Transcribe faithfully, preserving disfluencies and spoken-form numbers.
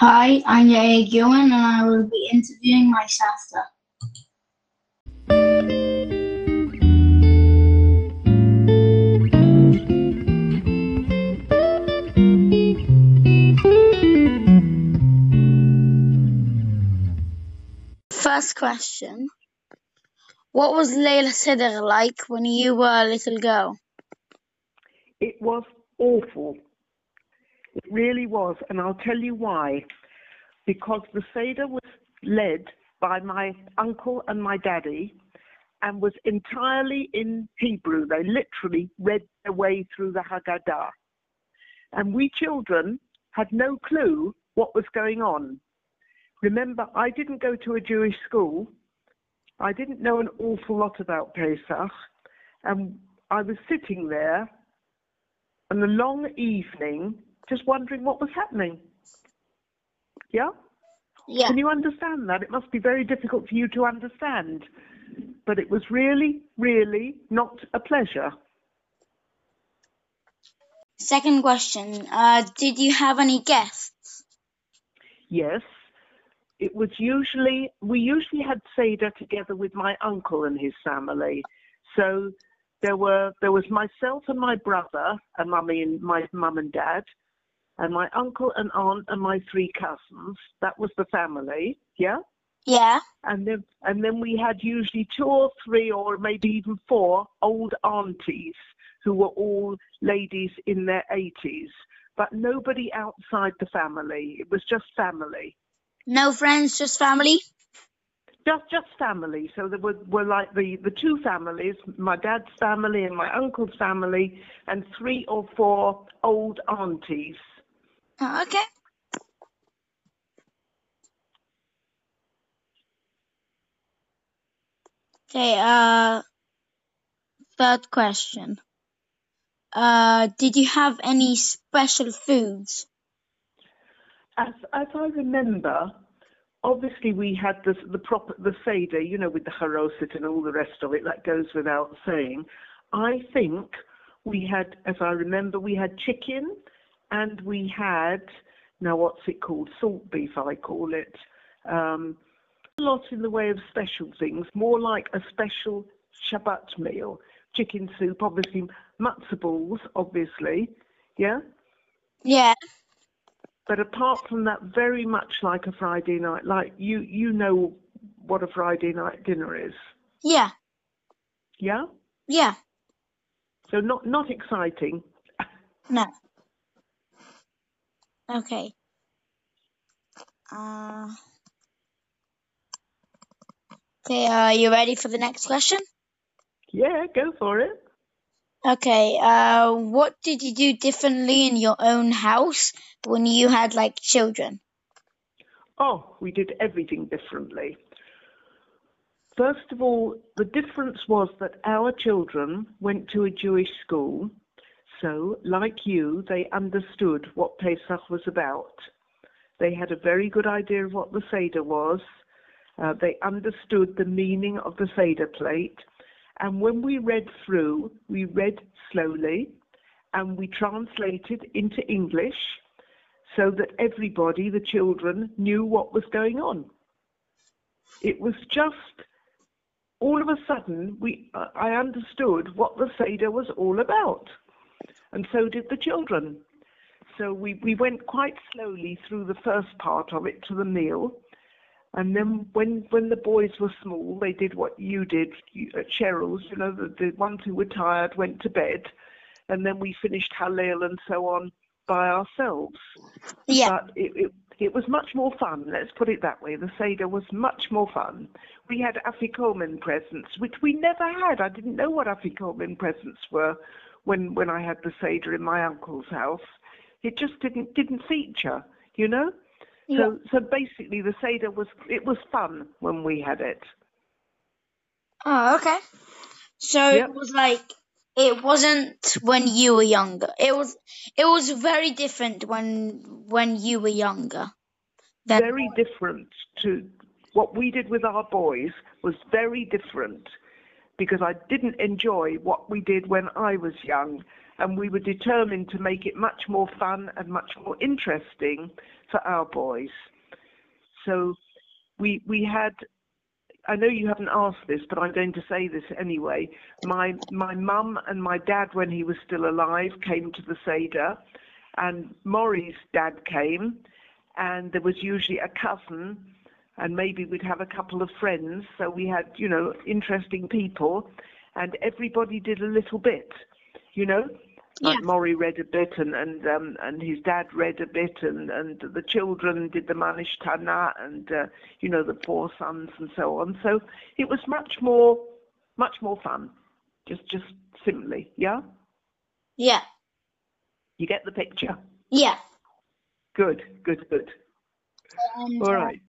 Hi, I'm Yair Gillen and I will be interviewing my sister. First question. What was Layla Sidr like when you were a little girl? It was awful. It really was, and I'll tell you why. Because the Seder was led by my uncle and my daddy and was entirely in Hebrew. They literally read their way through the Haggadah. And we children had no clue what was going on. Remember, I didn't go to a Jewish school. I didn't know an awful lot about Pesach. And I was sitting there on a long evening just wondering what was happening. Yeah? Yeah. Can you understand that? It must be very difficult for you to understand. But it was really, really not a pleasure. Second question. Uh, did you have any guests? Yes. It was usually, we usually had Seder together with my uncle and his family. So there were, there was myself and my brother and mummy and my mum and dad, and my uncle and aunt and my three cousins. That was the family, yeah? Yeah. And then, and then we had usually two or three or maybe even four old aunties who were all ladies in their eighties, but nobody outside the family. It was just family. No friends, just family? Just just family. So there were, were like the, the two families, my dad's family and my uncle's family, and three or four old aunties. Oh, okay. Okay, uh, third question. Uh, did you have any special foods? As as I remember, obviously we had the the proper the Seder, you know, with the charoset and all the rest of it. That goes without saying. I think we had, as I remember, we had chicken, and we had, now what's it called? Salt beef, I call it. Um, a lot in the way of special things, more like a special Shabbat meal. Chicken soup, obviously, matzah balls, obviously, yeah. Yeah. But apart from that, very much like a Friday night, like you, you know what a Friday night dinner is. Yeah. Yeah? Yeah. So not, not exciting. No. Okay. Uh, okay, are you ready for the next question? Yeah, go for it. Okay, uh, what did you do differently in your own house when you had, like, children? Oh, we did everything differently. First of all, the difference was that our children went to a Jewish school. So, like you, they understood what Pesach was about. They had a very good idea of what the Seder was. Uh, they understood the meaning of the Seder plate. And when we read through, we read slowly and we translated into English so that everybody, the children, knew what was going on. It was just, all of a sudden, we uh, I understood what the Seder was all about. And so did the children. So we, we went quite slowly through the first part of it to the meal. And then when when the boys were small, they did what you did at Cheryl's, you know, the, the ones who were tired went to bed. And then we finished Hallel and so on by ourselves. Yeah. But it, it, it was much more fun, let's put it that way. The Seder was much more fun. We had Afikomen presents, which we never had. I didn't know what Afikomen presents were when, when I had the Seder in my uncle's house. It just didn't didn't feature, you know? Yeah. So so basically the Seder was, it was fun when we had it. Oh, okay. So Yep. it was like, it wasn't when you were younger. It was it was very different when when you were younger. Than Very different to what we did with our boys, was very different because I didn't enjoy what we did when I was young. and we were determined to make it much more fun and much more interesting for our boys. So we we had, I know you haven't asked this, but I'm going to say this anyway. My my mum and my dad, when he was still alive, came to the Seder, and Maury's dad came, and there was usually a cousin, and maybe we'd have a couple of friends. So we had, you know, interesting people, and everybody did a little bit, you know. Like Yeah. Maury read a bit, and and um, and his dad read a bit, and, and the children did the Manish Tana, and uh, you know, the four sons and so on. So it was much more, much more fun. Just just simply, yeah. Yeah. You get the picture. Yeah. Good, good, good. And All uh, right.